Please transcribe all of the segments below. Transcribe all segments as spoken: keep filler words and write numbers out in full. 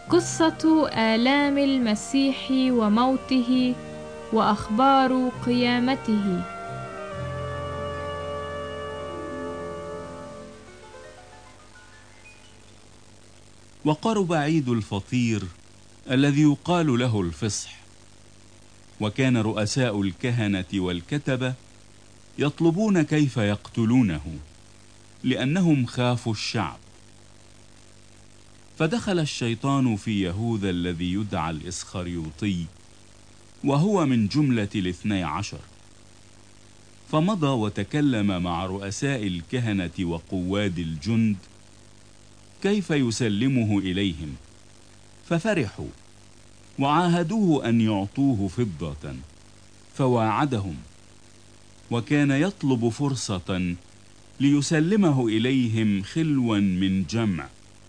قصة آلام المسيح وموته وأخبار قيامته. وقرب عيد الفطير الذي يقال له الفصح، وكان رؤساء الكهنة والكتبة يطلبون كيف يقتلونه لأنهم خافوا الشعب. فدخل الشيطان في يهوذا الذي يدعى الإسخريوطي، وهو من جملة الاثني عشر، فمضى وتكلم مع رؤساء الكهنة وقواد الجند كيف يسلمه إليهم، ففرحوا وعاهدوه أن يعطوه فضة، فواعدهم، وكان يطلب فرصة ليسلمه إليهم خلوا من جمع.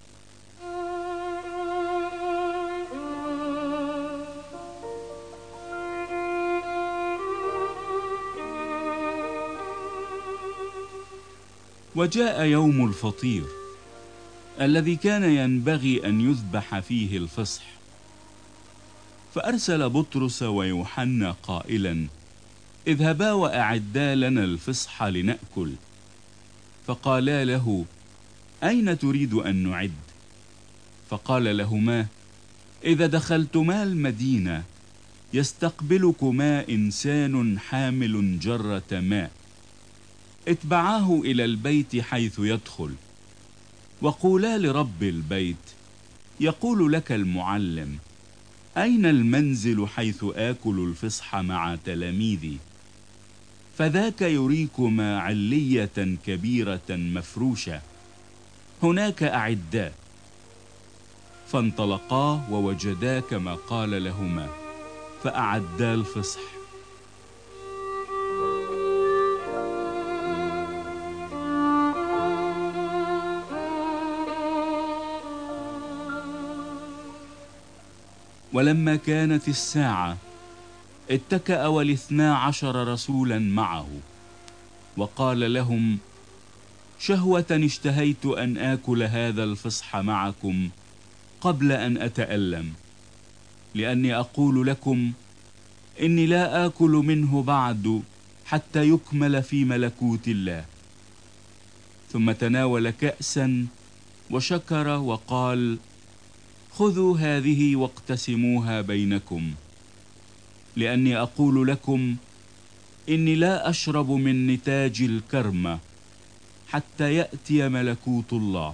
وجاء يوم الفطير الذي كان ينبغي أن يذبح فيه الفصح، فأرسل بطرس ويوحنا قائلا: اذهبا وأعدا لنا الفصح لنأكل. فقالا له: أين تريد أن نعد؟ فقال لهما: إذا دخلتما المدينة يستقبلكما إنسان حامل جرة ماء، اتبعاه إلى البيت حيث يدخل، وقولا لرب البيت: يقول لك المعلم، أين المنزل حيث آكل الفصح مع تلاميذي؟ فذاك يريكما علية كبيرة مفروشة، هناك أعداء. فانطلقا ووجدا كما قال لهما، فأعدا الفصح. ولما كانت الساعة اتكأ والاثنا عشر رسولا معه، وقال لهم: شهوة اشتهيت أن آكل هذا الفصح معكم قبل أن أتألم، لأني أقول لكم إني لا آكل منه بعد حتى يكمل في ملكوت الله. ثم تناول كأسا وشكر وقال: خذوا هذه واقتسموها بينكم، لأني أقول لكم إني لا أشرب من نتاج الكرمة حتى يأتي ملكوت الله.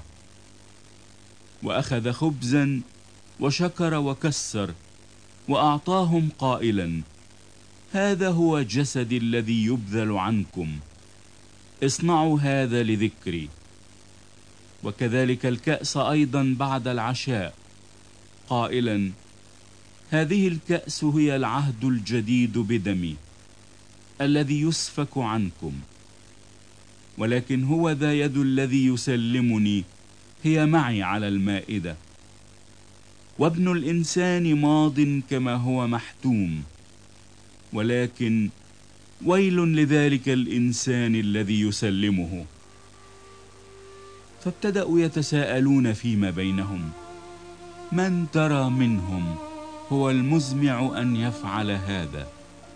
وأخذ خبزا وشكر وكسر وأعطاهم قائلا: هذا هو جسدي الذي يبذل عنكم، اصنعوا هذا لذكري. وكذلك الكأس أيضا بعد العشاء قائلا: هذه الكأس هي العهد الجديد بدمي الذي يسفك عنكم، ولكن هو ذا يد الذي يسلمني هي معي على المائدة. وابن الإنسان ماض كما هو محتوم، ولكن ويل لذلك الإنسان الذي يسلمه. فابتدأوا يتساءلون فيما بينهم: من ترى منهم هو المزمع أن يفعل هذا؟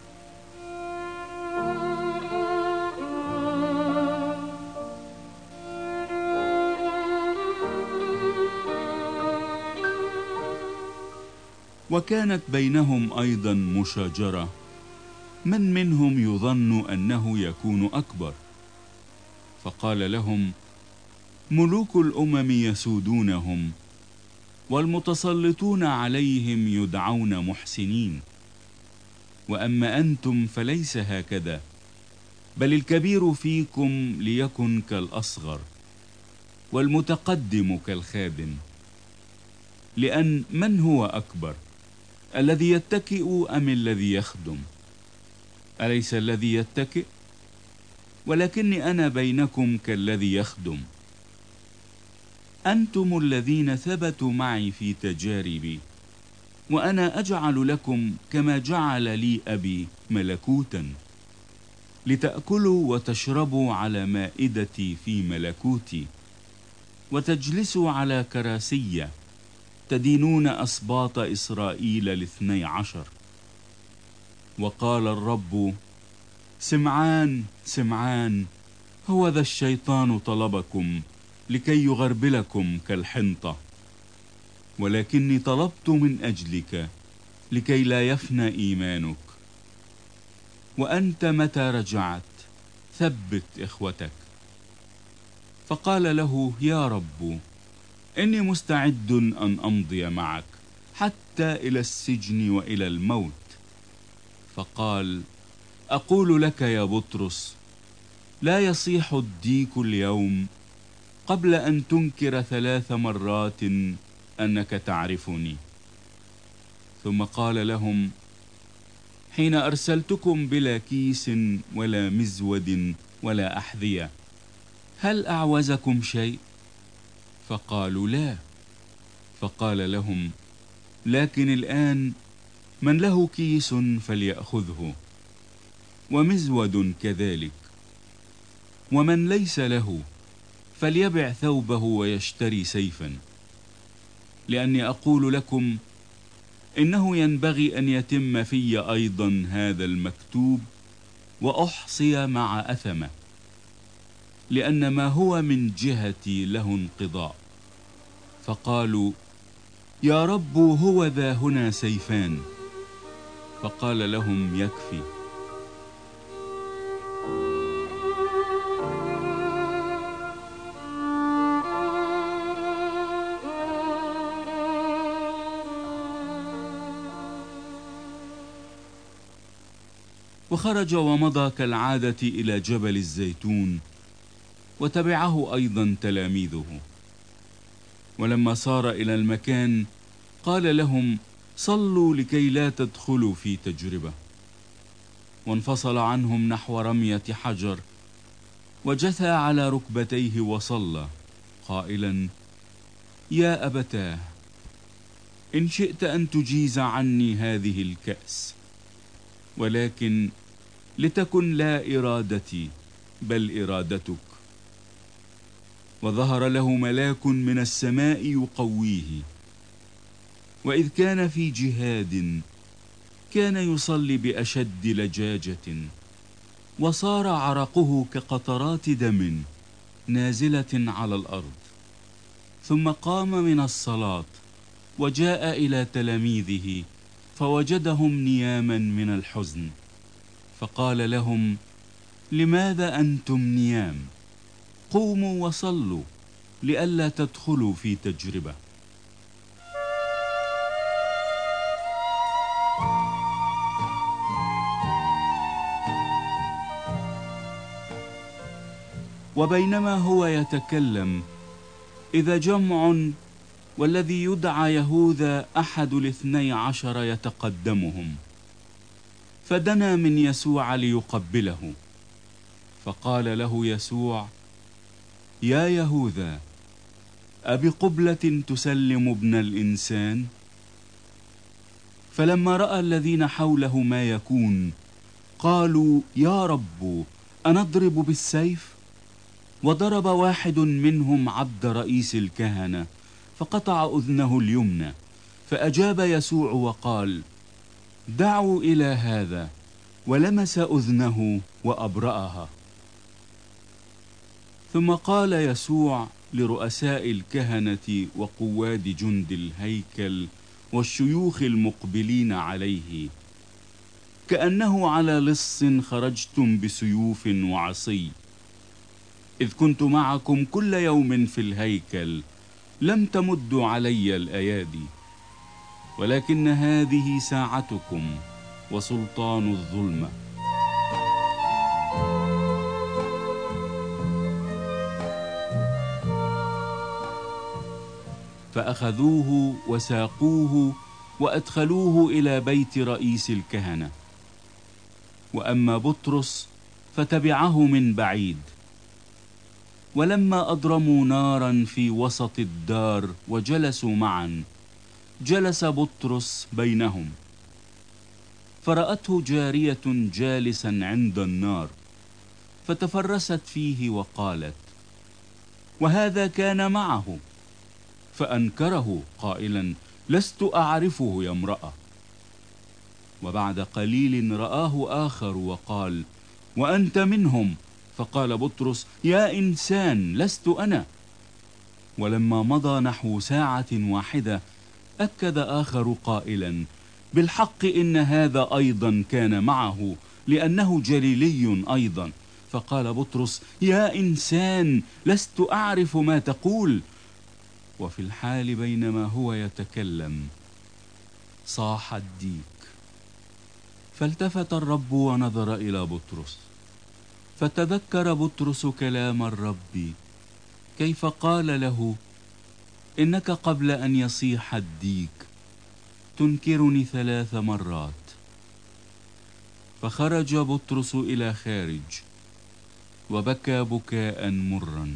وكانت بينهم أيضا مشاجرة، من منهم يظن أنه يكون أكبر؟ فقال لهم: ملوك الأمم يسودونهم، والمتسلطون عليهم يدعون محسنين، وأما أنتم فليس هكذا، بل الكبير فيكم ليكن كالأصغر، والمتقدم كالخادم. لأن من هو أكبر، الذي يتكئ أم الذي يخدم؟ أليس الذي يتكئ؟ ولكني أنا بينكم كالذي يخدم. أنتم الذين ثبتوا معي في تجاربي، وأنا أجعل لكم كما جعل لي أبي ملكوتا، لتأكلوا وتشربوا على مائدتي في ملكوتي، وتجلسوا على كراسي تدينون أسباط إسرائيل الاثني عشر. وقال الرب: سمعان سمعان، هو ذا الشيطان طلبكم لكي يغربلكم كالحنطة، ولكني طلبت من أجلك لكي لا يفنى إيمانك، وأنت متى رجعت ثبت إخوتك. فقال له: يا رب، إني مستعد أن أمضي معك حتى إلى السجن وإلى الموت. فقال: أقول لك يا بطرس، لا يصيح الديك اليوم قبل أن تنكر ثلاث مرات أنك تعرفني. ثم قال لهم: حين أرسلتكم بلا كيس ولا مزود ولا أحذية، هل أعوزكم شيء؟ فقالوا: لا. فقال لهم: لكن الآن من له كيس فليأخذه، ومزود كذلك، ومن ليس له فليبع ثوبه ويشتري سيفا، لأني أقول لكم إنه ينبغي أن يتم في أيضا هذا المكتوب وأحصي مع أثمة، لأن ما هو من جهتي له انقضاء. فقالوا: يا رب، هو ذا هنا سيفان. فقال لهم: يكفي. وخرج ومضى كالعادة إلى جبل الزيتون، وتبعه أيضا تلاميذه. ولما صار إلى المكان قال لهم: صلوا لكي لا تدخلوا في تجربة. وانفصل عنهم نحو رمية حجر، وجثى على ركبتيه وصلى قائلا: يا أبتاه، إن شئت أن تجيز عني هذه الكأس، ولكن لتكن لا إرادتي بل إرادتك. وظهر له ملاك من السماء يقويه، وإذ كان في جهاد كان يصلي بأشد لجاجة، وصار عرقه كقطرات دم نازلة على الأرض. ثم قام من الصلاة وجاء إلى تلاميذه فوجدهم نياما من الحزن، فقال لهم: لماذا أنتم نيام؟ قوموا وصلوا لئلا تدخلوا في تجربة. وبينما هو يتكلم إذا جمع، والذي يدعى يهوذا أحد الاثني عشر يتقدمهم، فدنا من يسوع ليقبله. فقال له يسوع: يا يهوذا، أبقبلة تسلم ابن الإنسان؟ فلما رأى الذين حوله ما يكون قالوا: يا رب، أنضرب بالسيف؟ وضرب واحد منهم عبد رئيس الكهنة فقطع أذنه اليمنى. فأجاب يسوع وقال: دعوا إلى هذا، ولمس أذنه وأبرأها. ثم قال يسوع لرؤساء الكهنة وقواد جند الهيكل والشيوخ المقبلين عليه: كأنه على لص خرجتم بسيوف وعصي. إذ كنت معكم كل يوم في الهيكل لم تمدوا علي الأيادي، ولكن هذه ساعتكم وسلطان الظلمة. فأخذوه وساقوه وأدخلوه إلى بيت رئيس الكهنة. وأما بطرس فتبعه من بعيد. ولما أضرموا نارا في وسط الدار وجلسوا معا، جلس بطرس بينهم، فرأته جارية جالسا عند النار، فتفرست فيه وقالت: وهذا كان معه. فأنكره قائلا: لست أعرفه يا امرأة. وبعد قليل رآه آخر وقال: وأنت منهم؟ فقال بطرس: يا إنسان، لست أنا. ولما مضى نحو ساعة واحدة أكد آخر قائلا: بالحق إن هذا أيضا كان معه، لأنه جليلي أيضا. فقال بطرس: يا إنسان، لست أعرف ما تقول. وفي الحال بينما هو يتكلم صاح الديك، فالتفت الرب ونظر إلى بطرس، فتذكر بطرس كلام الرب كيف قال له: إنك قبل أن يصيح الديك تنكرني ثلاث مرات. فخرج بطرس إلى خارج وبكى بكاء مرا.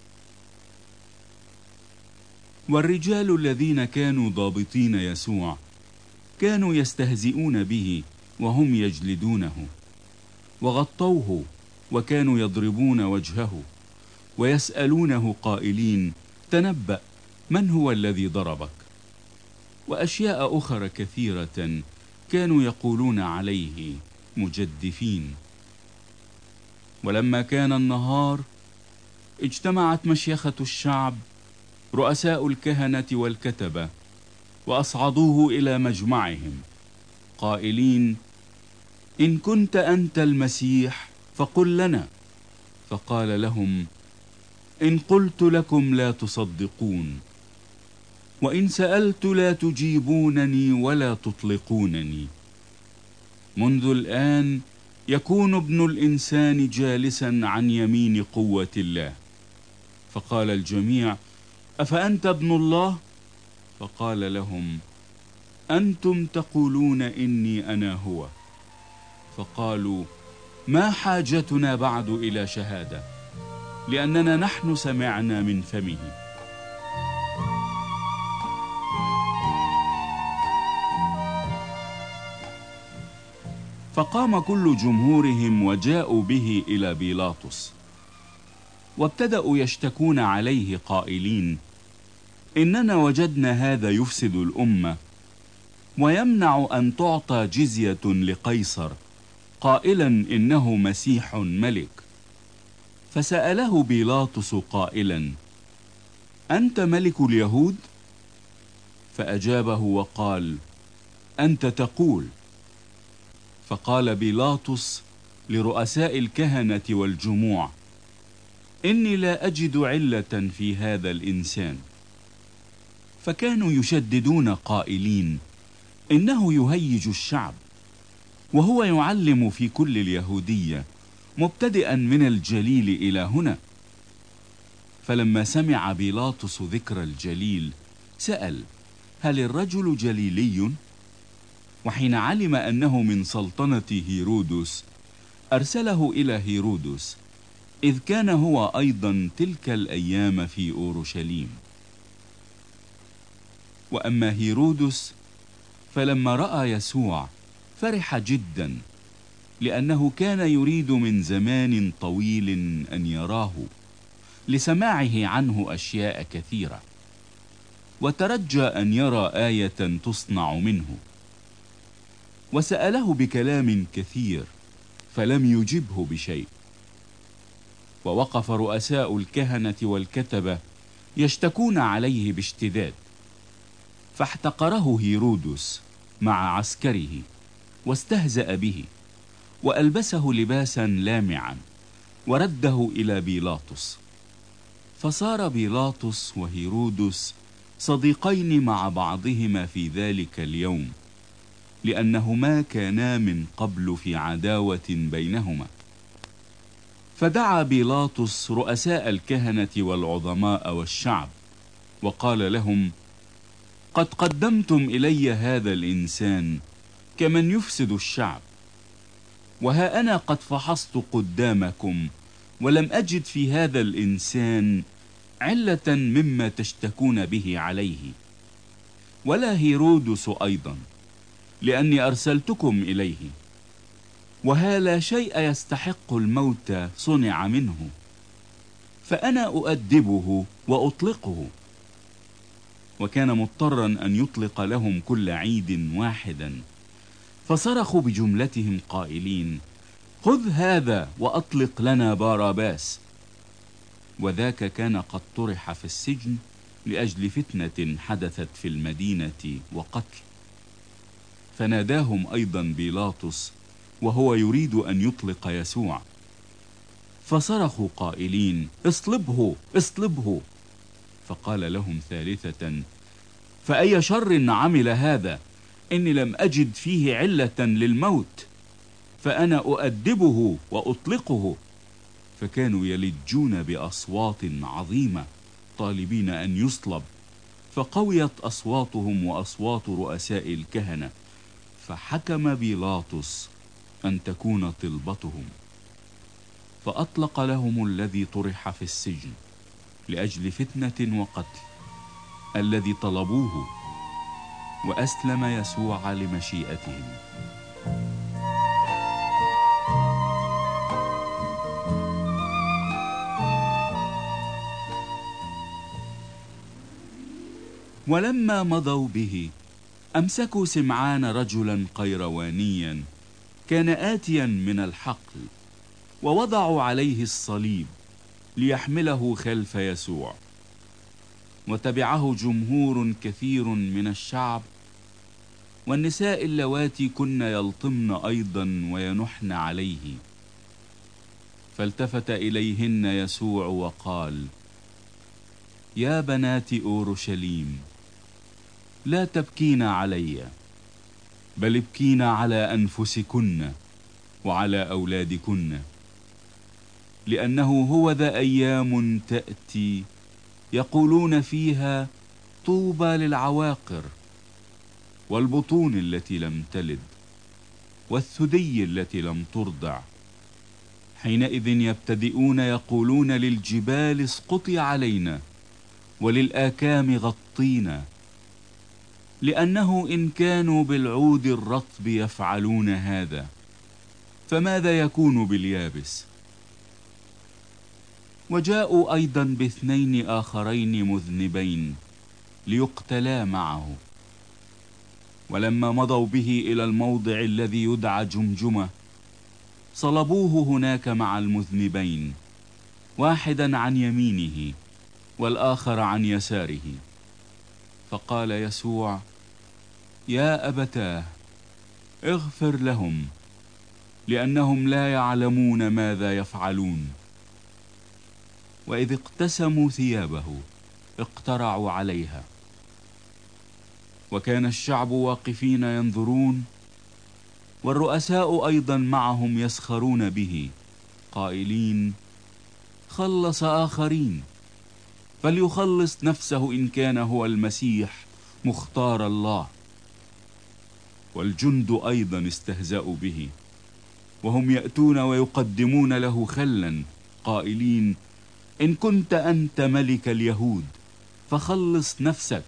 والرجال الذين كانوا ضابطين يسوع كانوا يستهزئون به وهم يجلدونه، وغطوه وكانوا يضربون وجهه ويسألونه قائلين: تنبأ، من هو الذي ضربك؟ وأشياء أخرى كثيرة كانوا يقولون عليه مجدفين. ولما كان النهار اجتمعت مشيخة الشعب رؤساء الكهنة والكتبة وأصعدوه إلى مجمعهم قائلين: إن كنت أنت المسيح فقل لنا. فقال لهم: إن قلت لكم لا تصدقون، وإن سألت لا تجيبونني ولا تطلقونني. منذ الآن يكون ابن الإنسان جالسا عن يمين قوة الله. فقال الجميع: أفأنت ابن الله؟ فقال لهم: أنتم تقولون إني أنا هو. فقالوا: ما حاجتنا بعد إلى شهادة، لأننا نحن سمعنا من فمه. فقام كل جمهورهم وجاءوا به إلى بيلاطس، وابتدأوا يشتكون عليه قائلين: إننا وجدنا هذا يفسد الأمة ويمنع أن تعطى جزية لقيصر، قائلا إنه مسيح ملك. فسأله بيلاطس قائلا: أنت ملك اليهود؟ فأجابه وقال: أنت تقول. فقال بيلاطس لرؤساء الكهنة والجموع: إني لا أجد علة في هذا الإنسان. فكانوا يشددون قائلين: إنه يهيج الشعب، وهو يعلم في كل اليهودية، مبتدئا من الجليل إلى هنا. فلما سمع بيلاطس ذكر الجليل سأل: هل الرجل جليلي؟ وحين علم أنه من سلطنة هيرودس أرسله إلى هيرودس، إذ كان هو أيضا تلك الأيام في أورشليم. وأما هيرودس فلما رأى يسوع فرح جدا، لأنه كان يريد من زمان طويل أن يراه، لسماعه عنه أشياء كثيرة، وترجى أن يرى آية تصنع منه. وسأله بكلام كثير فلم يجبه بشيء. ووقف رؤساء الكهنة والكتبة يشتكون عليه باشتداد، فاحتقره هيرودس مع عسكره واستهزأ به، وألبسه لباسا لامعا ورده إلى بيلاطس. فصار بيلاطس وهيرودس صديقين مع بعضهما في ذلك اليوم، لأنهما كانا من قبل في عداوة بينهما. فدعا بيلاطس رؤساء الكهنة والعظماء والشعب وقال لهم: قد قدمتم إلي هذا الإنسان كمن يفسد الشعب، وها أنا قد فحصت قدامكم ولم أجد في هذا الإنسان علة مما تشتكون به عليه، ولا هيرودس أيضا، لأني أرسلتكم إليه. وها لا شيء يستحق الموت صنع منه، فأنا أؤدبه وأطلقه. وكان مضطرا أن يطلق لهم كل عيد واحدا. فصرخوا بجملتهم قائلين: خذ هذا وأطلق لنا باراباس. وذاك كان قد طرح في السجن لأجل فتنة حدثت في المدينة وقتل. فناداهم أيضا بيلاطس وهو يريد أن يطلق يسوع، فصرخوا قائلين: اصلبه اصلبه. فقال لهم ثالثة: فأي شر عمل هذا؟ إني لم أجد فيه علة للموت، فأنا أؤدبه وأطلقه. فكانوا يلجون بأصوات عظيمة طالبين أن يصلب، فقويت أصواتهم وأصوات رؤساء الكهنة، فحكم بيلاطس أن تكون طلبتهم. فأطلق لهم الذي طرح في السجن لأجل فتنة وقتل الذي طلبوه، وأسلم يسوع لمشيئتهم. ولما مضوا به أمسكوا سمعان رجلا قيروانيا كان آتيا من الحقل، ووضعوا عليه الصليب ليحمله خلف يسوع. وتبعه جمهور كثير من الشعب، والنساء اللواتي كن يلطمن أيضا وينحن عليه. فالتفت إليهن يسوع وقال: يا بنات أورشليم، لا تبكين علي، بل ابكين على أنفسكن وعلى أولادكن، لأنه هو ذا أيام تأتي يقولون فيها: طوبى للعواقر والبطون التي لم تلد والثدي التي لم ترضع. حينئذ يبتدئون يقولون للجبال: اسقطي علينا، وللآكام غطينا، لأنه إن كانوا بالعود الرطب يفعلون هذا، فماذا يكون باليابس؟ وجاءوا أيضا باثنين آخرين مذنبين ليقتلا معه. ولما مضوا به إلى الموضع الذي يدعى جمجمة، صلبوه هناك مع المذنبين، واحدا عن يمينه والآخر عن يساره. فقال يسوع: يا أبتاه، اغفر لهم، لأنهم لا يعلمون ماذا يفعلون. وإذ اقتسموا ثيابه اقترعوا عليها. وكان الشعب واقفين ينظرون، والرؤساء أيضا معهم يسخرون به، قائلين: خلص آخرين، فليخلص نفسه إن كان هو المسيح مختار الله. والجند أيضا استهزأوا به، وهم يأتون ويقدمون له خلا، قائلين: إن كنت أنت ملك اليهود فخلص نفسك.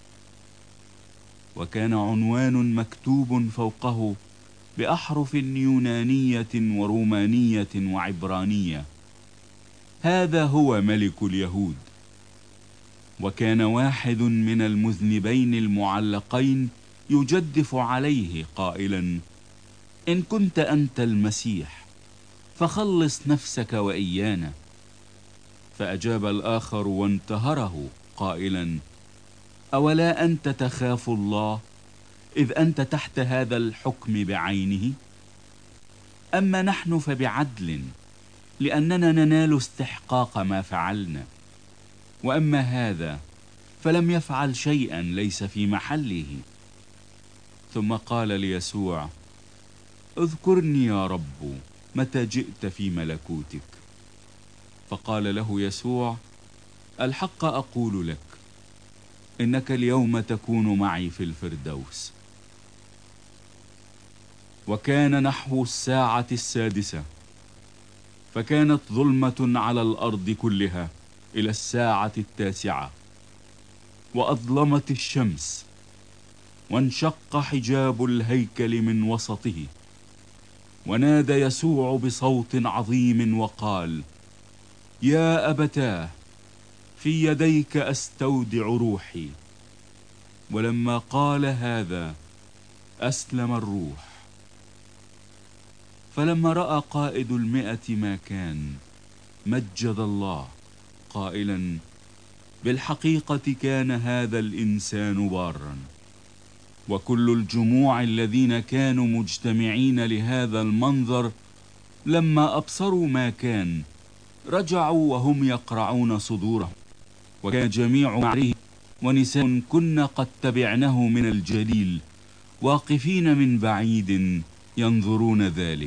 وكان عنوان مكتوب فوقه بأحرف يونانية ورومانية وعبرانية: هذا هو ملك اليهود. وكان واحد من المذنبين المعلقين يجدف عليه قائلا: إن كنت أنت المسيح فخلص نفسك وإيانا. فأجاب الآخر وانتهره قائلا: أولا أنت تخاف الله، إذ أنت تحت هذا الحكم بعينه؟ أما نحن فبعدل، لأننا ننال استحقاق ما فعلنا، وأما هذا فلم يفعل شيئا ليس في محله. ثم قال ليسوع: اذكرني يا رب متى جئت في ملكوتك. فقال له يسوع: الحق أقول لك، إنك اليوم تكون معي في الفردوس. وكان نحو الساعة السادسة، فكانت ظلمة على الأرض كلها إلى الساعة التاسعة، وأظلمت الشمس، وانشق حجاب الهيكل من وسطه. ونادى يسوع بصوت عظيم وقال: يا أبتاه، في يديك أستودع روحي. ولما قال هذا أسلم الروح. فلما رأى قائد المئة ما كان مجد الله قائلا: بالحقيقة كان هذا الإنسان بارا. وكل الجموع الذين كانوا مجتمعين لهذا المنظر لما أبصروا ما كان رجعوا وهم يقرعون صدورهم، وكان جميع معره ونساء كن قد تبعنه من الجليل واقفين من بعيد ينظرون ذلك.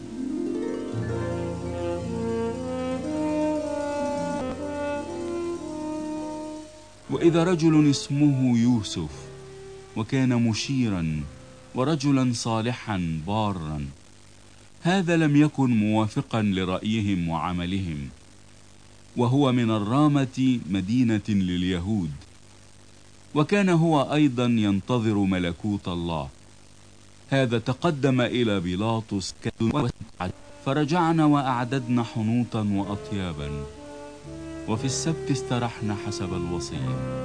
وإذا رجل اسمه يوسف، وكان مشيرا ورجلا صالحا بارا، هذا لم يكن موافقا لرأيهم وعملهم، وهو من الرامة مدينة لليهود، وكان هو أيضا ينتظر ملكوت الله. هذا تقدم إلى بيلاطس فرجعنا وأعددنا حنوطا وأطيابا، وفي السبت استرحنا حسب الوصية.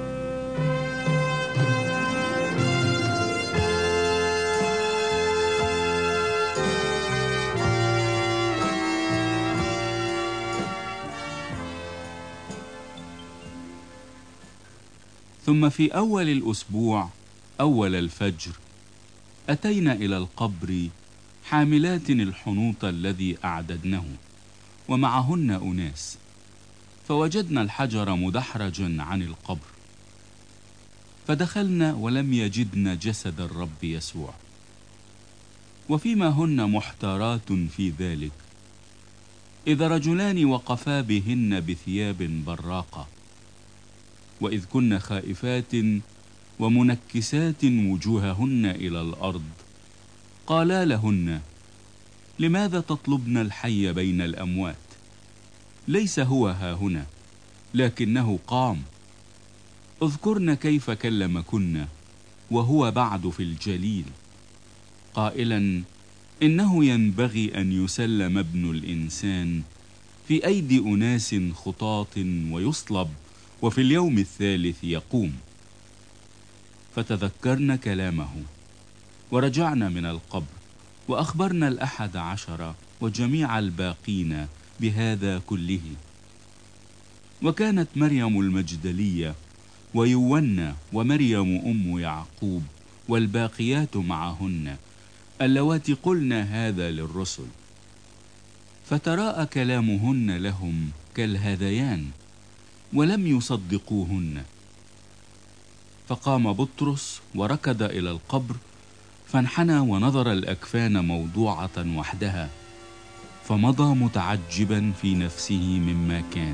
ثم في أول الأسبوع أول الفجر أتينا إلى القبر حاملات الحنوط الذي أعددنه ومعهن أناس، فوجدنا الحجر مدحرجا عن القبر، فدخلنا ولم يجدن جسد الرب يسوع. وفيما هن محتارات في ذلك، إذا رجلان وقفا بهن بثياب براقة، وإذ كن خائفات ومنكسات وجوههن إلى الأرض، قالا لهن: لماذا تطلبن الحي بين الأموات؟ ليس هو هاهنا، لكنه قام. اذكرن كيف كلمكن وهو بعد في الجليل، قائلا: إنه ينبغي أن يسلم ابن الإنسان في أيدي أناس خطاة ويصلب، وفي اليوم الثالث يقوم. فتذكرنا كلامه ورجعنا من القبر، وأخبرنا الأحد عشر وجميع الباقين بهذا كله. وكانت مريم المجدلية ويونا ومريم أم يعقوب والباقيات معهن اللواتي قلن هذا للرسل. فتراءى كلامهن لهم كالهذيان، ولم يصدقوهن. فقام بطرس وركض إلى القبر، فانحنى ونظر الأكفان موضوعة وحدها، فمضى متعجبا في نفسه مما كان.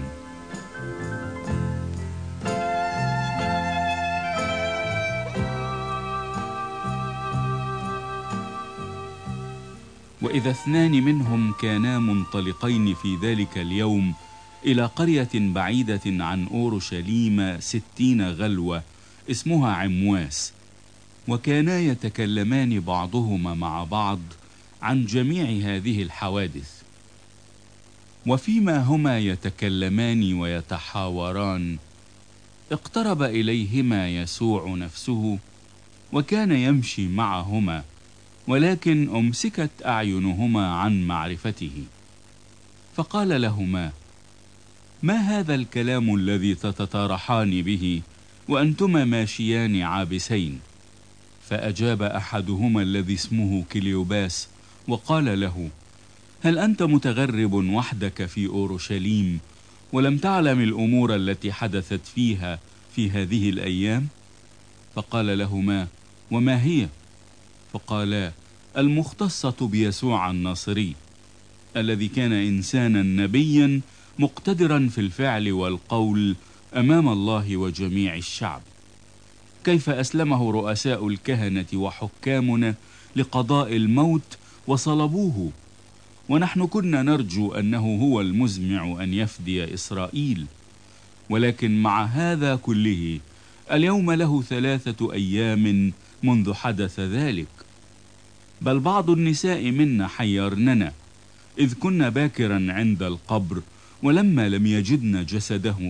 وإذا اثنان منهم كانا منطلقين في ذلك اليوم إلى قرية بعيدة عن أورشليم ستين غلوة اسمها عمواس، وكانا يتكلمان بعضهما مع بعض عن جميع هذه الحوادث. وفيما هما يتكلمان ويتحاوران، اقترب إليهما يسوع نفسه، وكان يمشي معهما، ولكن أمسكت أعينهما عن معرفته. فقال لهما: ما هذا الكلام الذي تتطارحان به وأنتما ماشيان عابسين؟ فأجاب أحدهما الذي اسمه كليوباس وقال له: هل أنت متغرب وحدك في أورشليم ولم تعلم الأمور التي حدثت فيها في هذه الأيام؟ فقال لهما: وما هي؟ فقالا: المختصة بيسوع الناصري، الذي كان إنسانا نبيا مقتدرا في الفعل والقول أمام الله وجميع الشعب، كيف أسلمه رؤساء الكهنة وحكامنا لقضاء الموت وصلبوه، ونحن كنا نرجو أنه هو المزمع أن يفدي إسرائيل. ولكن مع هذا كله اليوم له ثلاثة أيام منذ حدث ذلك. بل بعض النساء منا حيرننا، إذ كنا باكرا عند القبر، ولما لم يجدن جسده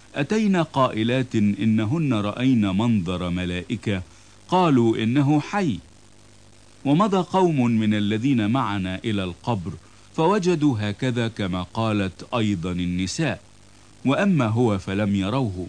أتينا قائلات إنهن رأين منظر ملائكة قالوا إنه حي. ومضى قوم من الذين معنا إلى القبر فوجدوا هكذا كما قالت أيضا النساء، وأما هو فلم يروه.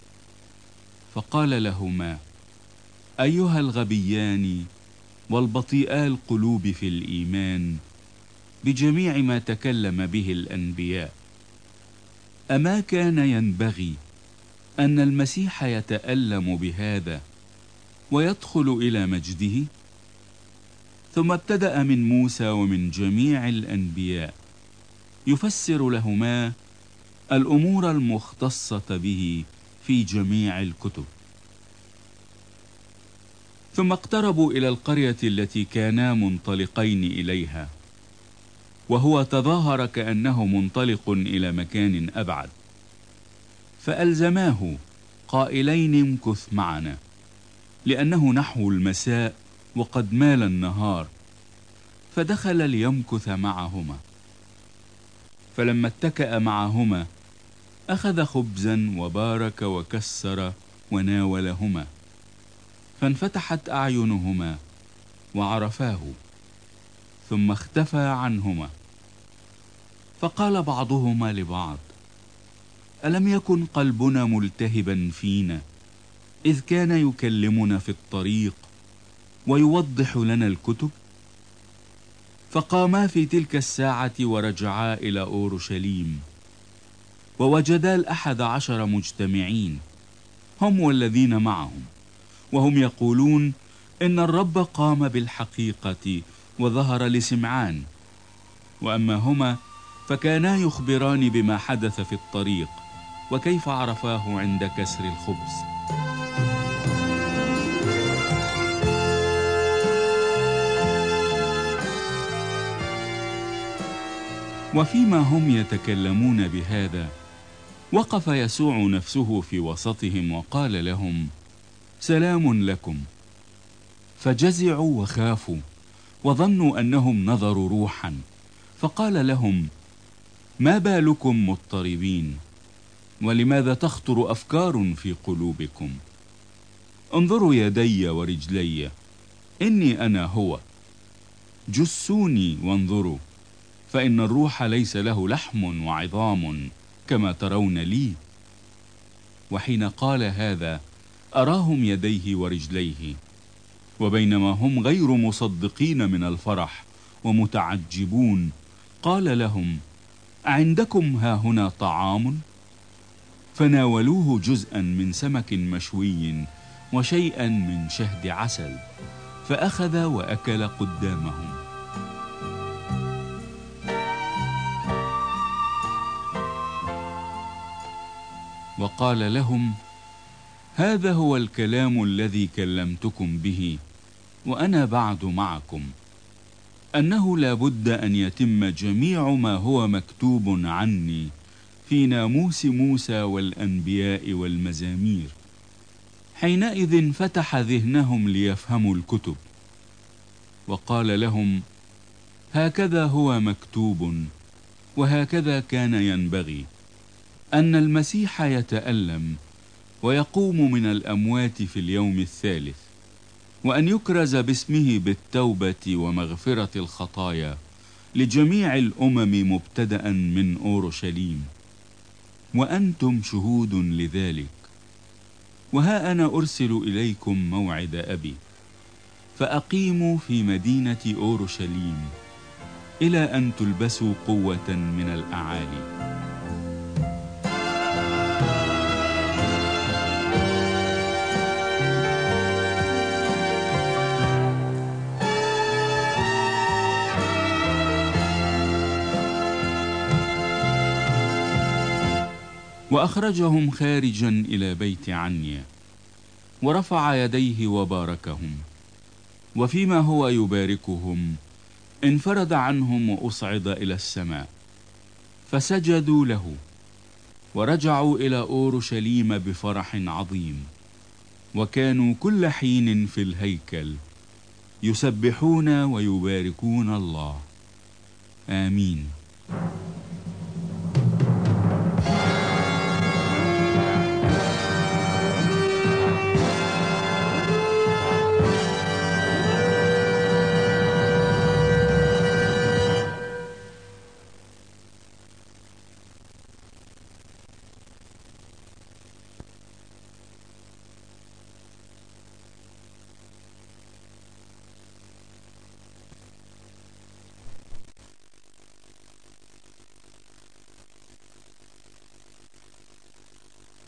فقال لهما: أيها الغبيان والبطيئا القلوب في الإيمان بجميع ما تكلم به الأنبياء، أما كان ينبغي أن المسيح يتألم بهذا ويدخل إلى مجده؟ ثم ابتدأ من موسى ومن جميع الأنبياء يفسر لهما الأمور المختصة به في جميع الكتب. ثم اقتربوا إلى القرية التي كانا منطلقين إليها، وهو تظاهر كأنه منطلق إلى مكان أبعد، فألزماه قائلين: امكث معنا، لأنه نحو المساء وقد مال النهار. فدخل ليمكث معهما. فلما اتكأ معهما أخذ خبزا وبارك وكسر وناولهما، فانفتحت أعينهما وعرفاه، ثم اختفى عنهما. فقال بعضهما لبعض: ألم يكن قلبنا ملتهبا فينا إذ كان يكلمنا في الطريق ويوضح لنا الكتب؟ فقاما في تلك الساعة ورجعا إلى أورشليم، ووجدا الأحد عشر مجتمعين، هم والذين معهم، وهم يقولون إن الرب قام بالحقيقة وظهر لسمعان. وأما هما فكانا يخبران بما حدث في الطريق وكيف عرفاه عند كسر الخبز. وفيما هم يتكلمون بهذا وقف يسوع نفسه في وسطهم وقال لهم: سلام لكم. فجزعوا وخافوا وظنوا أنهم نظروا روحا، فقال لهم: ما بالكم مضطربين، ولماذا تخطر أفكار في قلوبكم؟ انظروا يدي ورجلي، إني أنا هو. جسوني وانظروا، فإن الروح ليس له لحم وعظام كما ترون لي. وحين قال هذا أراهم يديه ورجليه، وبينما هم غير مصدقين من الفرح ومتعجبون قال لهم: أعندكم هاهنا طعام؟ فناولوه جزءا من سمك مشوي وشيئا من شهد عسل، فأخذ وأكل قدامهم. وقال لهم: هذا هو الكلام الذي كلمتكم به وأنا بعد معكم، أنه لا بد أن يتم جميع ما هو مكتوب عني في ناموس موسى والأنبياء والمزامير. حينئذ فتح ذهنهم ليفهموا الكتب، وقال لهم: هكذا هو مكتوب، وهكذا كان ينبغي أن المسيح يتألم ويقوم من الأموات في اليوم الثالث، وأن يكرز باسمه بالتوبة ومغفرة الخطايا لجميع الأمم مبتدأ من أورشليم، وأنتم شهود لذلك. وها أنا أرسل إليكم موعد أبي، فأقيموا في مدينة أورشليم إلى أن تلبسوا قوة من الأعالي. وأخرجهم خارجا إلى بيت عنيا، ورفع يديه وباركهم، وفيما هو يباركهم انفرد عنهم وأصعد إلى السماء، فسجدوا له ورجعوا إلى أورشليم بفرح عظيم، وكانوا كل حين في الهيكل يسبحون ويباركون الله. آمين.